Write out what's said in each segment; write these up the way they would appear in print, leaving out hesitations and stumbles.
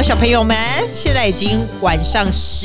小朋友們，現在已經晚上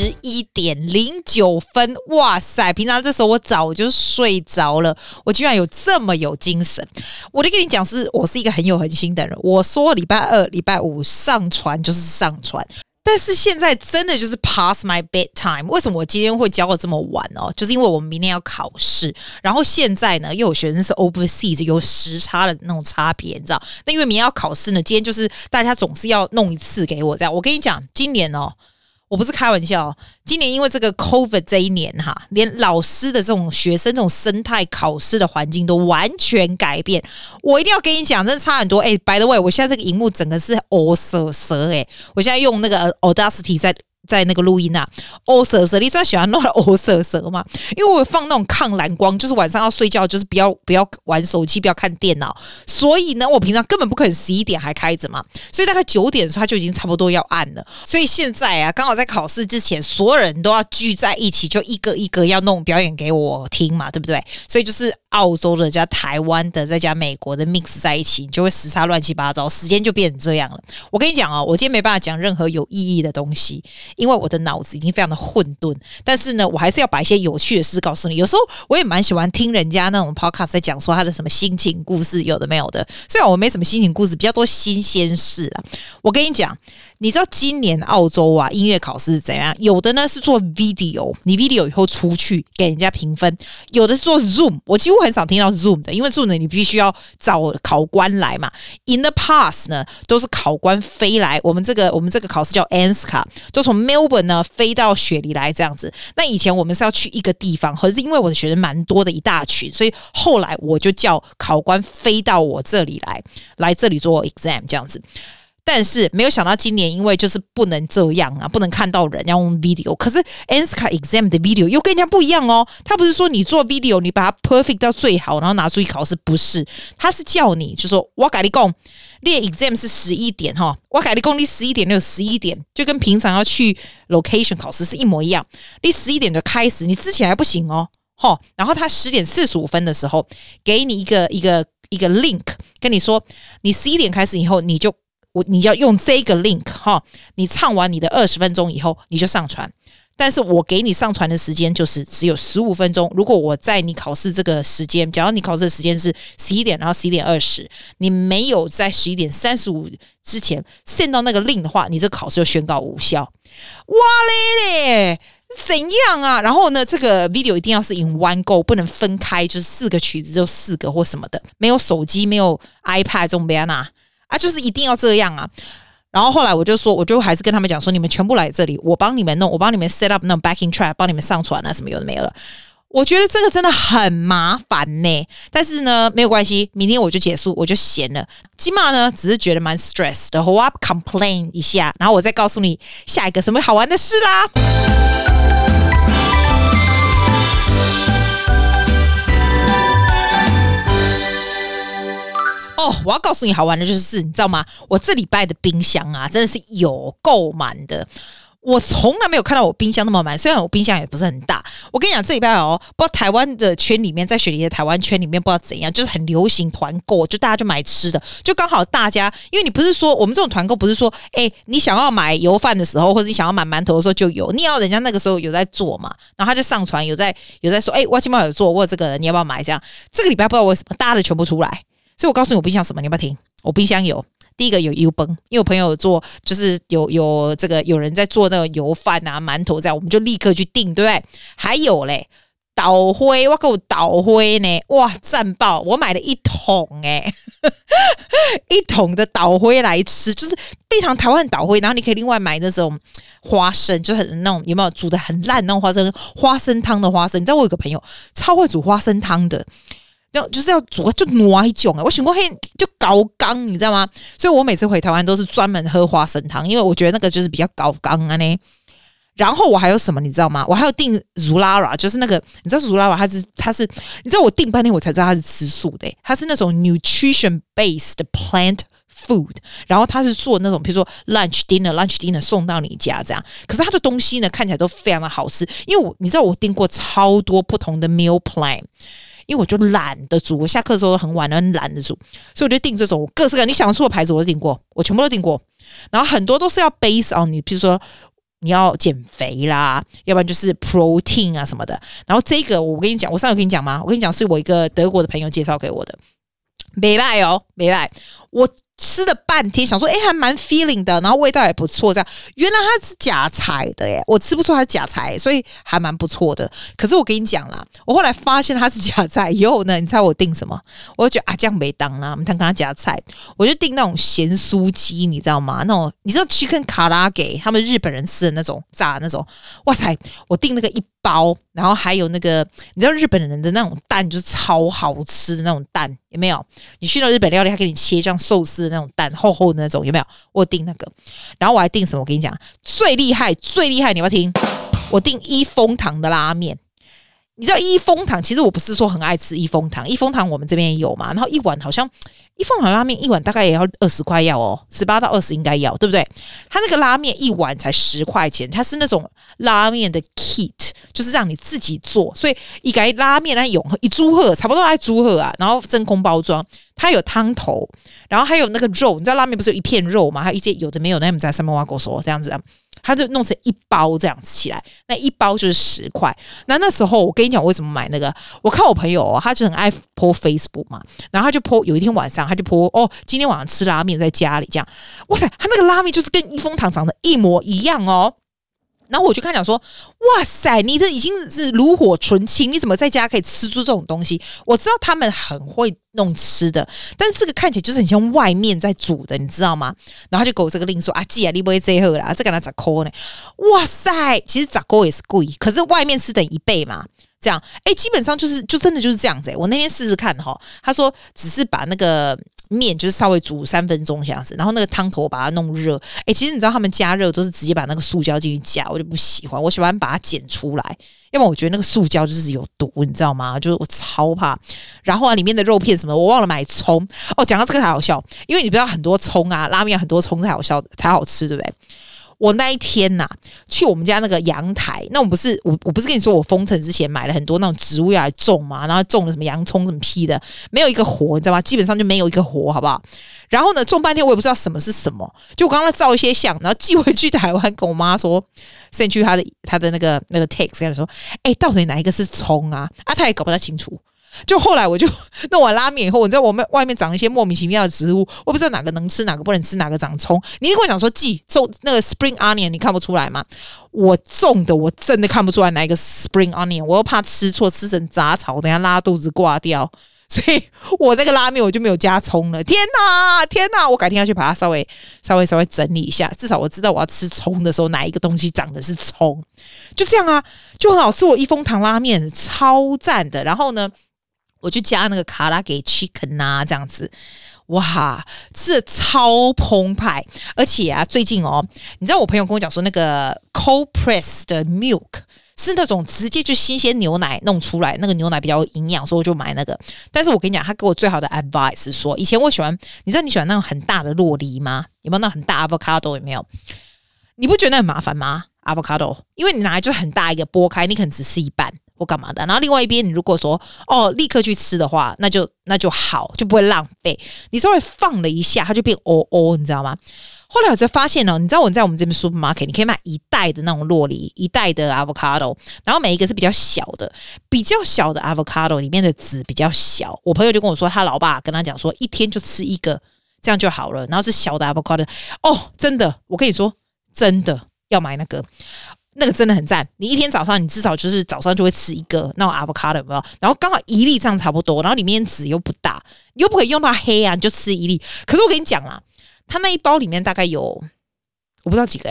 11:09，哇塞！平常這時候我早就睡着了，我居然有這麼有精神。我就跟你講，我是一個很有恆心的人。我說禮拜二、禮拜五上傳就是上傳。但是現在真的就是 past my bedtime。為什麼我今天會教的這麼晚哦？就是因為我們明天要考試，然後現在呢又有學生是 overseas， 有時差的那種差別，你知道？那因為明天要考試呢，今天就是大家總是要弄一次給我這樣。我跟你講，今年哦，我不是開玩笑，今年因為這個 COVID 這一年哈，連老師的這種學生這種生態考試的環境都完全改變。我一定要跟你講，真的差很多。by the way， 我現在這個熒幕整個是黑色色我現在用那個 Audacity 在那個錄音啊，黑色色，你最喜歡弄黑色色嗎？因為我放那種抗藍光，就是晚上要睡覺，就是不要玩手機，不要看電腦。所以呢，我平常根本不可能11點還開着嘛，所以大概9點的時候，它就已經差不多要按了。所以現在啊，剛好在考試之前，所有人都要聚在一起，就一個一个要弄表演給我聽嘛，對不對？所以就是澳洲的加台灣的再加美國的 mix 在一起，你就會時差亂七八糟，時間就變成這樣了。我跟你講哦，我今天沒辦法講任何有意義的東西。因為我的腦子已經非常的混沌，但是呢，我還是要把一些有趣的事告訴你。有時候我也蠻喜歡聽人家那種 podcast 在講說他的什麼心情故事，有的沒有的。雖然我沒什麼心情故事，比較多新鮮事啦。我跟你講，你知道今年澳洲啊音樂考試是怎樣？有的呢是做 video， 你 video 以後出去給人家評分；有的是做 Zoom， 我幾乎很少聽到 Zoom 的，因為 Zoom 呢你必須要找考官來嘛。In the past 呢都是考官飛來，我們這個考試叫 ANZCA， 都從Melbourne 呢飛到雪梨來這樣子。那以前我們是要去一個地方，可是因為我的學生蠻多的一大群，所以後來我就叫考官飛到我這裡來這裡做 exam 這樣子。但是沒有想到今年因為就是不能這樣啊，不能看到人，要用 video。可是 ANZCA exam 的 video 又跟人家不一樣哦，他不是說你做 video 你把它 perfect 到最好，然後拿出去考試，不是，他是叫你就說我跟你講，你的 exam 是11點哈，我跟你講你11點就11點，就跟平常要去 location 考試是一模一樣，你11點就開始，你之前還不行哦，然後他10點45分的時候給你一個 link， 跟你說你11點開始以後你要用這個 link 哈，你唱完你的20分鐘以後你就上傳，但是我給你上傳的時間就是只有15分鐘。如果我在你考試這個時間，假如你考試的時間是11點，然後11點20，你沒有在11點35之前 send 到那個 link 的話，你這個考試就宣告無效。哇嘞！怎樣啊？然後呢，這個 video 一定要是 in one go， 不能分開，就是4個曲子就4個或什麼的，沒有手機，沒有 iPad 這種別拿。就是一定要這樣啊！然後後來我就還是跟他們講說，你們全部來這裡，我幫你們弄，我幫你們 set up 那種 backing track， 幫你們上傳啊，什麼有的沒有了。我覺得這個真的很麻煩呢，但是呢沒有關係，明天我就結束，我就閒了。今嘛呢只是覺得蠻 stress 的，我要 complain 一下，然後我再告訴你下一個什麼好玩的事啦。我要告訴你好玩的就是你知道嗎？我這禮拜的冰箱啊真的是有夠滿的，我從來沒有看到我冰箱那麼滿，雖然我冰箱也不是很大。我跟你講，這禮拜不知道台灣的圈裡面，在雪梨的台灣圈裡面不知道怎樣，就是很流行團購，就大家就買吃的，就剛好大家，因為你不是說我們這種團購不是說你想要買油飯的時候，或者你想要買饅頭的時候就有，你要人家那個時候有在做嘛，然後他就上傳有在說我今天有做，我有這個你要不要買？這樣這個禮拜不知道為什麼大家的全部出來。所以我告訴你我冰箱什麼，你要不要聽？我冰箱有第一個有油崩，因為我朋友有做，就是有這個有人在做那個油飯啊、饅頭這樣，我們就立刻去訂，對不對？還有嘞，島灰，我給我島灰呢，哇，讚爆！我買了1桶一桶的島灰來吃，就是非常台灣的島灰，然後你可以另外買那種花生，就是那種有沒有煮得很爛那種花生湯的花生？你知道我有個朋友超會煮花生湯的。就是要煮就挪一種我想過就高剛，你知道嗎？所以我每次回台灣都是專門喝花生湯，因為我覺得那個就是比較高剛啊呢。然後我還有什麼你知道嗎？我還有訂 Zulara， 就是那個你知道 Zulara 它是你知道我訂半天我才知道它是吃素的，它是那種 nutrition based plant food， 然後它是做那種比如說 lunch dinner 送到你家這樣，可是它的東西呢看起來都非常的好吃，因為你知道我訂過超多不同的 meal plan。因為我就懶得煮，我下課的時候很晚了，很懶得煮，所以我就訂這種各式各樣你想得出的牌子我都訂過，我全部都訂過。 然後很多都是要 base on 你，比如說你要減肥啦，要不然就是 protein 啊什麼的。然後這個我跟你講，我上次跟你講嗎？我跟你講是我一個德國的朋友介紹給我的，沒賴哦，沒賴，我吃了半天，想說還蠻 feeling 的，然後味道也不錯，這樣原來它是假材的耶，我吃不出它是假材，所以還蠻不錯的。可是我跟你講啦，我後來發現它是假材以後呢，你猜我訂什麼？我就覺得這樣沒當啦，我們看跟他加菜，我就訂那種鹹酥雞，你知道嗎？那種你知道 chicken 卡拉給他們日本人吃的那種炸的那種，哇塞，我訂那個1包，然後還有那個你知道日本人的那種蛋就是超好吃的那種蛋，有沒有？你去到日本料理，他給你切這樣壽司的那種蛋，厚厚的那種，有沒有？我訂那個，然後我還訂什麼？我跟你講，最厲害，你要不要聽？我訂一風堂的拉麵。你知道一風堂，其實我不是說很愛吃一風堂，一風堂我們這邊也有嘛。然後一碗好像一風堂拉麵一碗大概也要20塊要哦，18到20應該要，對不对？他那個拉麵一碗才10塊錢，它是那種拉麵的 kit， 就是讓你自己做，所以一個拉麵來用一豬赫差不多爱豬赫啊，然後真空包裝，它有湯頭，然後還有那個肉，你知道拉麵不是有一片肉嘛？還有一些有的沒有，那我們在上面挖狗手這樣子啊。他就弄成1包這樣子起來，那1包就是10塊。那時候我跟你講，我為什麼買那個？我看我朋友哦，他就很愛 po Facebook 嘛，然後他就 po 有一天晚上他就 po 哦，今天晚上吃拉麵在家裡這樣，哇塞，他那個拉麵就是跟一風堂長得一模一樣哦。然後我就跟他講說，哇塞，你這已經是爐火純青，你怎麼在家可以吃出這種東西？我知道他們很會弄吃的，但是這個看起來就是很像外面在煮的，你知道嗎？然后他就給我這個令說，姐啊，你不會這喝啦，這個拿10塊呢？哇塞，其實10塊也是貴，可是外面吃等1倍嘛。這樣，基本上就真的就是這樣子。我那天試試看哈，他說只是把那個麵就是稍微煮3分鐘這樣子，然後那個湯頭把它弄熱。其實你知道他們加熱都是直接把那個塑膠進去加，我就不喜歡，我喜歡把它剪出來，要不然我覺得那個塑膠就是有毒，你知道嗎？就是我超怕。然後裡面的肉片什麼，我忘了買蔥哦。講到這個才好笑，因為你不知道很多蔥啊，拉麵很多蔥才好笑才好吃，對不对？我那一天啊，去我們家那個陽台，那我不是跟你說我封城之前買了很多那種植物要來種嘛，然後種了什麼洋蔥什麼屁的，沒有一個活，你知道嗎？基本上就沒有一個活，好不好？然後呢，種半天我也不知道什麼是什麼，就我剛剛照一些相，然後寄回去台灣，跟我媽說，send去他的那個 text 跟他說，到底哪一個是蔥啊？他也搞不太清楚。就後來我就弄完拉麵以後，你知道我們外面長一些莫名其妙的植物，我不知道哪個能吃，哪個不能吃，哪個長蔥。你跟我講說，種那個 spring onion， 你看不出來嗎？我種的我真的看不出來哪一個 spring onion， 我又怕吃錯，吃成雜草，等一下拉肚子掛掉，所以我那個拉麵我就沒有加蔥了。天哪！我改天要去把它稍微整理一下，至少我知道我要吃蔥的時候哪一個東西長的是蔥。就這樣啊，就很好吃。我一風堂拉麵超讚的，然後呢，我就加那個卡拉給 chicken 啊，這樣子，哇，這超澎湃！而且啊，最近哦，你知道我朋友跟我講說，那個 cold press 的 milk 是那種直接就新鮮牛奶弄出來，那個牛奶比較有營養，所以我就買那個。但是我跟你講，他給我最好的 advice 是說，以前我喜歡，你知道你喜歡那種很大的酪梨嗎？有沒有那種很大 avocado？有沒有？你不覺得那很麻煩嗎 ？avocado， 因為你拿來就很大一個剝開，你可能只吃一半。或幹嘛的，然後另外一邊，你如果說立刻去吃的話，那就好，就不会浪費。你稍微放了一下，它就變你知道嗎？後來我才發現你知道我在我們這邊 supermarket， 你可以買1袋的那種酪梨，1袋的 avocado， 然後每一個是比較小的 avocado 裡面的籽比較小。我朋友就跟我說，他老爸跟他講說，一天就吃1個，這樣就好了。然後是小的 avocado， 真的，我跟你說，真的要買那個真的很讚，你一天早上你至少就是早上就會吃1個那種 avocado， 有沒有？然後剛好1粒這樣差不多，然後裡面籽又不大，你又不可以用到黑啊，你就吃1粒。可是我跟你講啦，它那一包裡面大概有我不知道幾個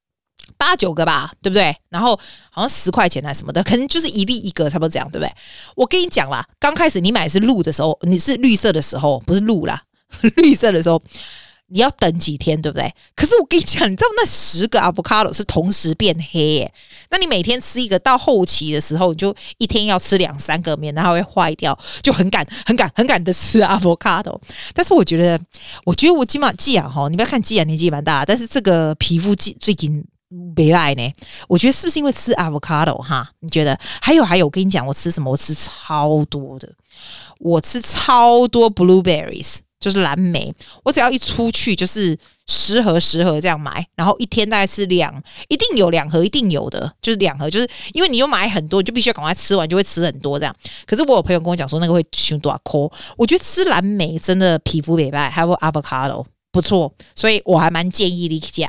8、9個吧，對不對？然後好像10塊錢還是什麼的，可能就是1粒1個，差不多這樣，對不對？我跟你講啦，剛開始你買的是綠的時候，你是綠色的時候，不是綠啦，綠色的時候。你要等幾天，對不對？可是我跟你講，你知道那10個 avocado 是同時變黑耶？那你每天吃一個，到後期的時候，你就一天要吃2、3個，免得它會壞掉，就很趕的吃 avocado。但是我覺得我基本上季亞哈，你不要看季亞年紀蠻大，但是這個皮膚最近沒來呢。我覺得是不是因為吃 avocado 哈？你覺得？還有，我跟你講，我吃什麼？我吃超多的，我吃超多 blueberries。 就是藍莓，我只要一出去就是10盒這樣買，然後一天大概吃一定有2盒，一定有的就是2盒，就是因為你又買很多，你就必須要趕快吃完，就會吃很多這樣。可是我有朋友跟我講說那個會傷大顆，我覺得吃藍莓真的皮膚美白，還有 avocado 不錯，所以我還蠻建議你吃。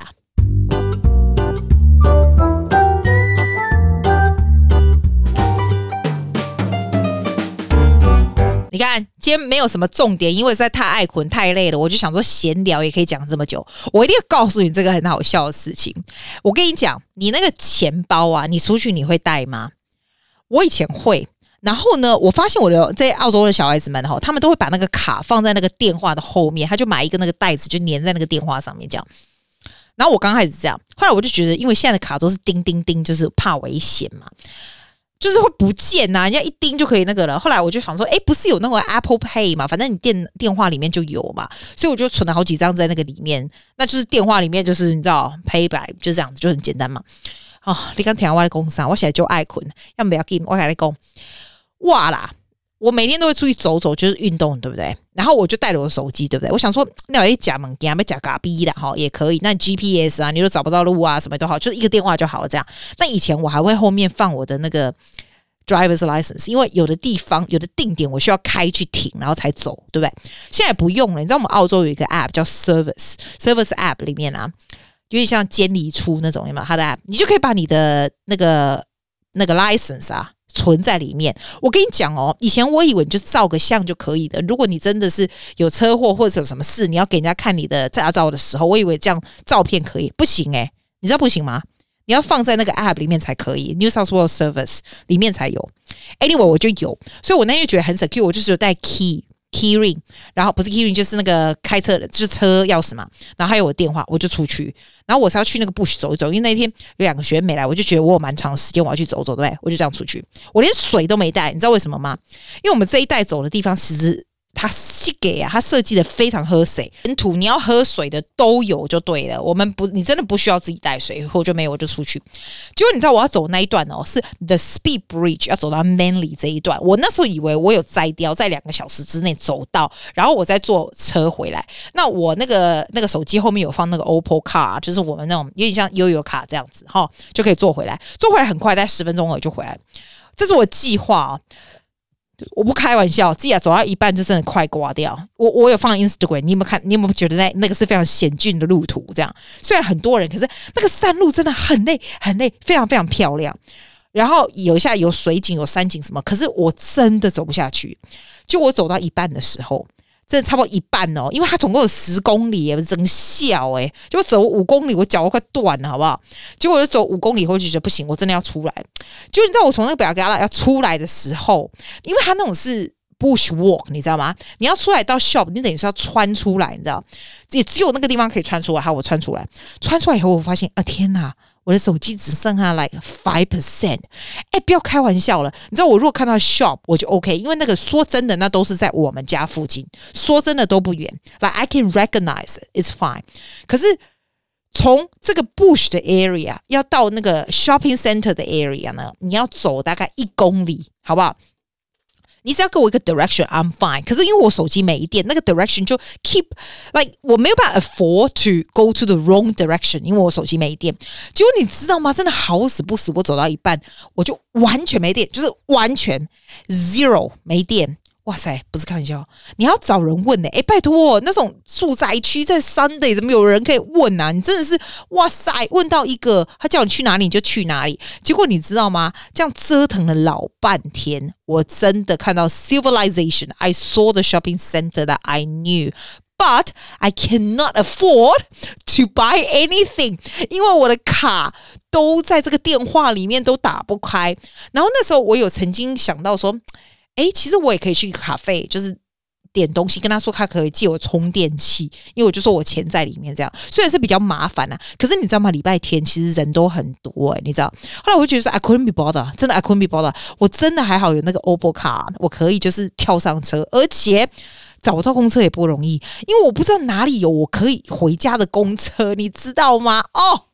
你看，今天沒有什麼重點，因為實在太愛睏、太累了，我就想說閒聊也可以講這麼久。我一定要告訴你這個很好笑的事情。我跟你講，你那個錢包啊，你出去你會帶嗎？我以前會，然後呢，我發現我的在澳洲的小孩子們哈，他們都會把那個卡放在那個電話的後面，他就買一個那個袋子，就粘在那個電話上面這樣。然後我剛開始這樣，後來我就覺得，因為現在的卡都是叮叮叮，就是怕危險嘛。就是會不見吶、啊，人家一叮就可以那個了。後來我就想說，不是有那個 Apple Pay 嘛，反正你電話裡面就有嘛，所以我就存了好幾張在那個裡面。那就是電話裡面就是你知道 Pay by 就這樣子，就很簡單嘛。哦，你剛聽我的工商，我現在就愛睏，要不要給我跟你講，哇啦！我每天都會出去走走，就是運動，對不對？然後我就帶着我的手機，对不對？我想說，那有假物件，要假咖逼的哈，也可以。那 GPS 啊，你都找不到路啊，什麼都好，就是一個電話就好了。這樣。那以前我還會後面放我的那個 driver's license， 因為有的地方有的定點我需要開去停，然後才走，對不对？現在不用了。你知道我們澳洲有一個 app 叫 Service app 裡面啊，有點像監理處那種，有沒有？它的 app， 你就可以把你的那個 license 啊。存在裡面，我跟你講哦，以前我以為你就照個相就可以的。如果你真的是有車禍或者有什麼事，你要給人家看你的駕照的時候，我以為這樣照片可以，不行你知道不行嗎？你要放在那個 app 裡面才可以 ，New South Wales Service 裡面才有。Anyway， 我就有，所以我那天就覺得很 secure， 我就是有帶 key ring， 然後不是 key ring 就是那個開車的，就是車鑰匙嘛，然後還有我的電話，我就出去。然後我是要去那個 bush 走一走，因為那天有2個學員沒來，我就覺得我有蠻長的時間我要去走走，對不對？我就這樣出去，我連水都沒帶，你知道為什麼嗎？因為我們這一帶走的地方其實它它設計的非常喝水，沿途你要喝水的都有就對了。我們不，你真的不需要自己帶水，或者没有我就出去。結果你知道我要走那一段哦，是 The Speed Bridge 要走到 Manly 這一段。我那時候以為我有摘掉，在2個小時之內走到，然後我再坐車回來。那我那個手機後面有放那個 Opal Car， 就是我們那種有點像悠游卡這樣子哈，就可以坐回來。坐回來很快，大概10分鐘而已就回來。這是我計劃哦。我不開玩笑，自己走到一半就真的快掛掉。我有放 Instagram， 你有沒有看？你有沒有覺得那個是非常險峻的路途？這樣雖然很多人，可是那個山路真的很累，很累，非常非常漂亮。然後有水景，有山景什麼，可是我真的走不下去。就我走到一半的時候，真的差不多一半哦，因為它總共有10公里，真笑結果走5公里，我腳都快斷了，好不好？結果我就走5公里後就覺得不行，我真的要出來。就你知道我從那個表格要出來的時候，因為它那種是 bush walk， 你知道嗎？你要出來到 shop， 你等於是要穿出來，你知道？也只有那個地方可以穿出来。好，我穿出来以後，我發現天哪！我的手機只剩下 like 5%，不要開玩笑了。你知道我如果看到 shop 我就 OK， 因為那個說真的，那都是在我們家附近，說真的都不遠。Like I can recognize it, it's fine。可是從這個 bush 的 area 要到那個 shopping center 的 area 呢，你要走大概1公里，好不好？你只要給我一個 direction, I'm fine。可是因為我手機沒電，那個 direction 就 keep like 我沒有辦法 afford to go to the wrong direction， 因為我手機沒電。結果你知道嗎？真的好死不死，我走到一半我就完全沒電，就是完全 zero 沒電。哇塞，不是開玩笑，你要找人問拜託，那種住宅區在 Sunday 怎麼有人可以問啊？你真的是哇塞，問到一個他叫你去哪裡你就去哪裡。結果你知道嗎？這樣折騰了老半天，我真的看到 civilization。I saw the shopping center that I knew, but I cannot afford to buy anything， 因為我的卡都在這個電話裡面都打不開。然後那時候我有曾經想到說，其實我也可以去咖啡，就是點東西，跟他說他可以借我充電器，因為我就說我錢在裡面，這樣雖然是比較麻煩啊，可是你知道嗎？禮拜天其實人都很多你知道。後來我就覺得說 I couldn't be bothered， 真的 I couldn't be bothered， 我真的還好有那個 Opal Car， 我可以就是跳上車，而且找到公車也不容易，因為我不知道哪裡有我可以回家的公車，你知道嗎？Oh my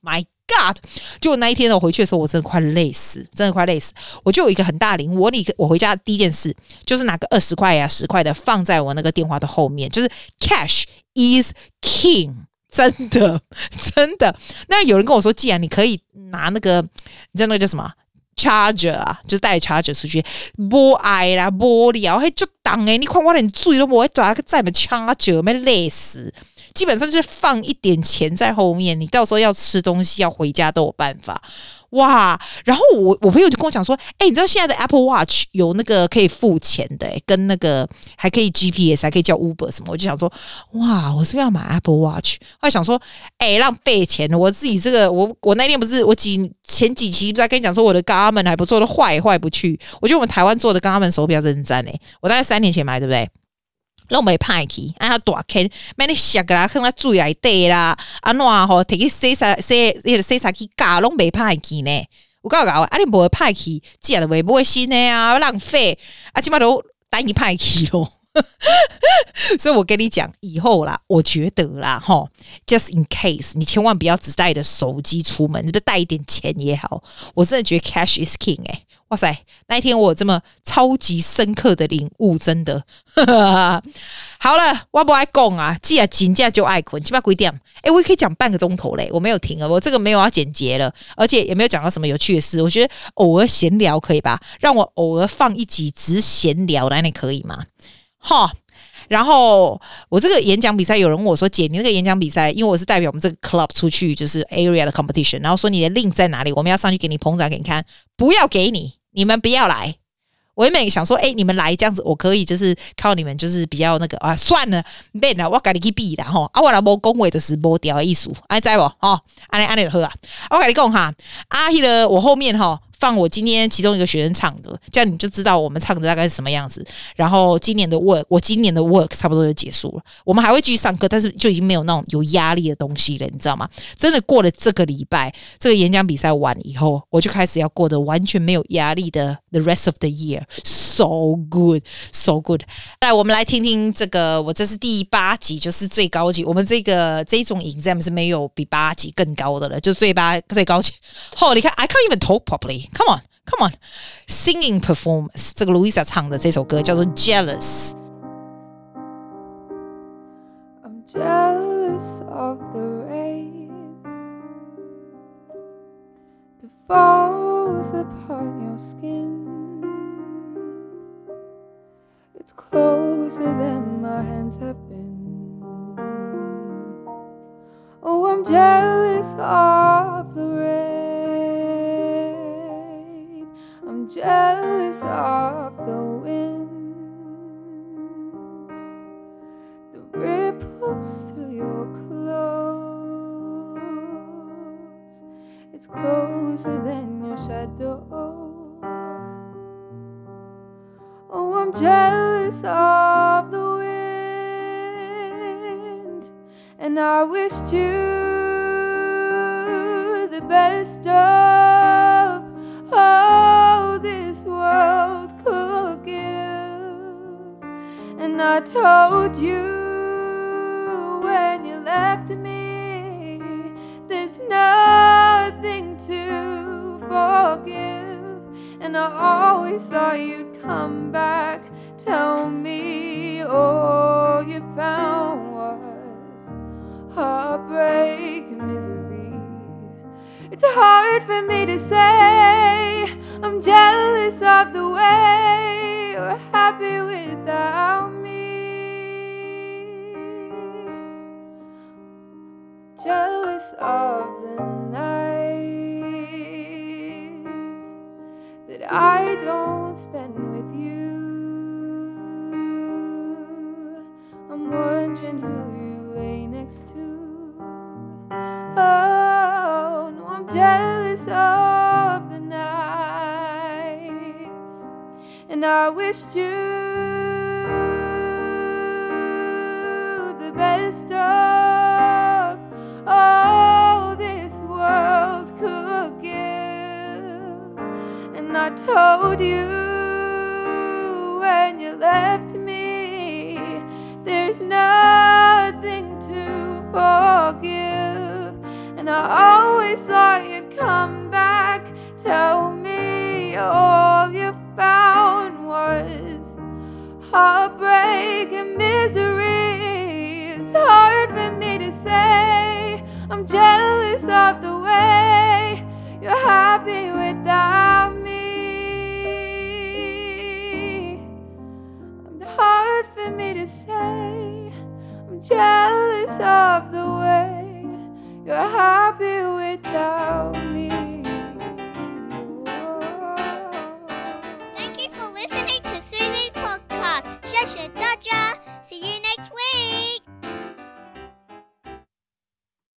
God！ 結果那一天呢，我回去的時候，我真的快累死，真的快累死。我就有一個很大領悟，我回家第一件事就是拿個20塊呀、10塊的放在我那個電話的後面，就是 cash is king。真的，真的。那有人跟我說，既然你可以拿那個，你知道那個叫什麼 charger 啊，就是帶 charger 出去，沒愛啦，沒聊，嘿就當誒，你看我連水都沒抓，再沒 charger，沒累死。基本上就是放一點錢在後面，你到時候要吃東西要回家都有辦法。哇！然後我朋友就跟我講說，你知道現在的 Apple Watch 有那個可以付錢的，跟那個還可以 GPS， 還可以叫 Uber 什麼。我就想說，哇，我是不是要買 Apple Watch？ 後來想說，浪費錢，我自己這個，我那天不是前幾期不是在跟你講說我的 Garmin 還不錯，都壞不去。我覺得我們台灣做的 Garmin 手錶真的讚我大概3年前買，對不对？攏袂歹去，它大坑，買你摔啦，放在水內底啦，安怎吼，摕去洗衫機架，攏袂歹去呢。有夠搞，你無歹去，只就袂買新的啊，浪費，即擺都等於歹去咯。所以我跟你講，以後啦，我覺得啦，just in case， 你千萬不要只帶着手機出門，你不帶一點錢也好。我真的覺得 cash is king 哇塞！那一天我有這麼超級深刻的領悟，真的。好了，我不愛講啊，既然真正就愛睏，起碼幾點？我也可以講半個鐘頭嘞，我沒有停了，我這個沒有要剪輯了，而且也沒有講到什麼有趣的事。我覺得偶爾閒聊可以吧？讓我偶爾放一集只閒聊的，那可以嗎？然後我這個演講比賽，有人問我說：“姐，你那個演講比賽，因為我是代表我們這個 club 出去，就是 area 的 competition， 然後說你的 link 在哪裡？我們要上去給你捧場給你看，不要給你們不要來。”我原本想說，你們來這樣子，我可以就是靠你們，就是比較那個啊，算了，免啦，我跟你去比啦吼，我若無講話就是無調的意思，知無吼？安尼就好啊。我跟你講哈，我後面放我今天其中一個學生唱的，這樣你就知道我們唱的大概是什麼樣子。然後我今年的 work 差不多就結束了，我們還會繼續上課，但是就已經沒有那種有壓力的東西了，你知道嗎？真的過了這個禮拜，這個演講比賽完以後，我就開始要過得完全沒有壓力的 the rest of the year。So good, so good。來，我們來聽聽這個，我這是第8集，就是最高級。我們這種 exam 是沒有比8集更高的了，就最高級。你看 I can't even talk properly. Come on. Singing performance， 這個 Louisa 唱的這首歌叫做 Jealous。 I'm jealous of the rain that falls upon your skin.It's closer than my hands have been. Oh, I'm jealous of the rain. I'm jealous of the wind that ripples through your clothes. It's closer than your shadow.Oh, I'm jealous of the wind, and I wished you the best of all this world could give. And I told you when you left me, there's nothing to forgive.And I always thought you'd come back, tell me all you found was heartbreak and misery. It's hard for me to say I'm jealous of the way you're happy without me. Jealous of the night that I don't spend with you. I'm wondering who you lay next to. Oh, no, I'm jealous of the nights, and I wished you the best of all this world could give.And I told you when you left me, there's nothing to forgive. And I always thought you'd come back. Tell me all you found was heartbreak and misery. It's hard for me to say. I'm jealous of the way you're happy without me. It's hard for me to say. I'm jealous of the way you're happy without me.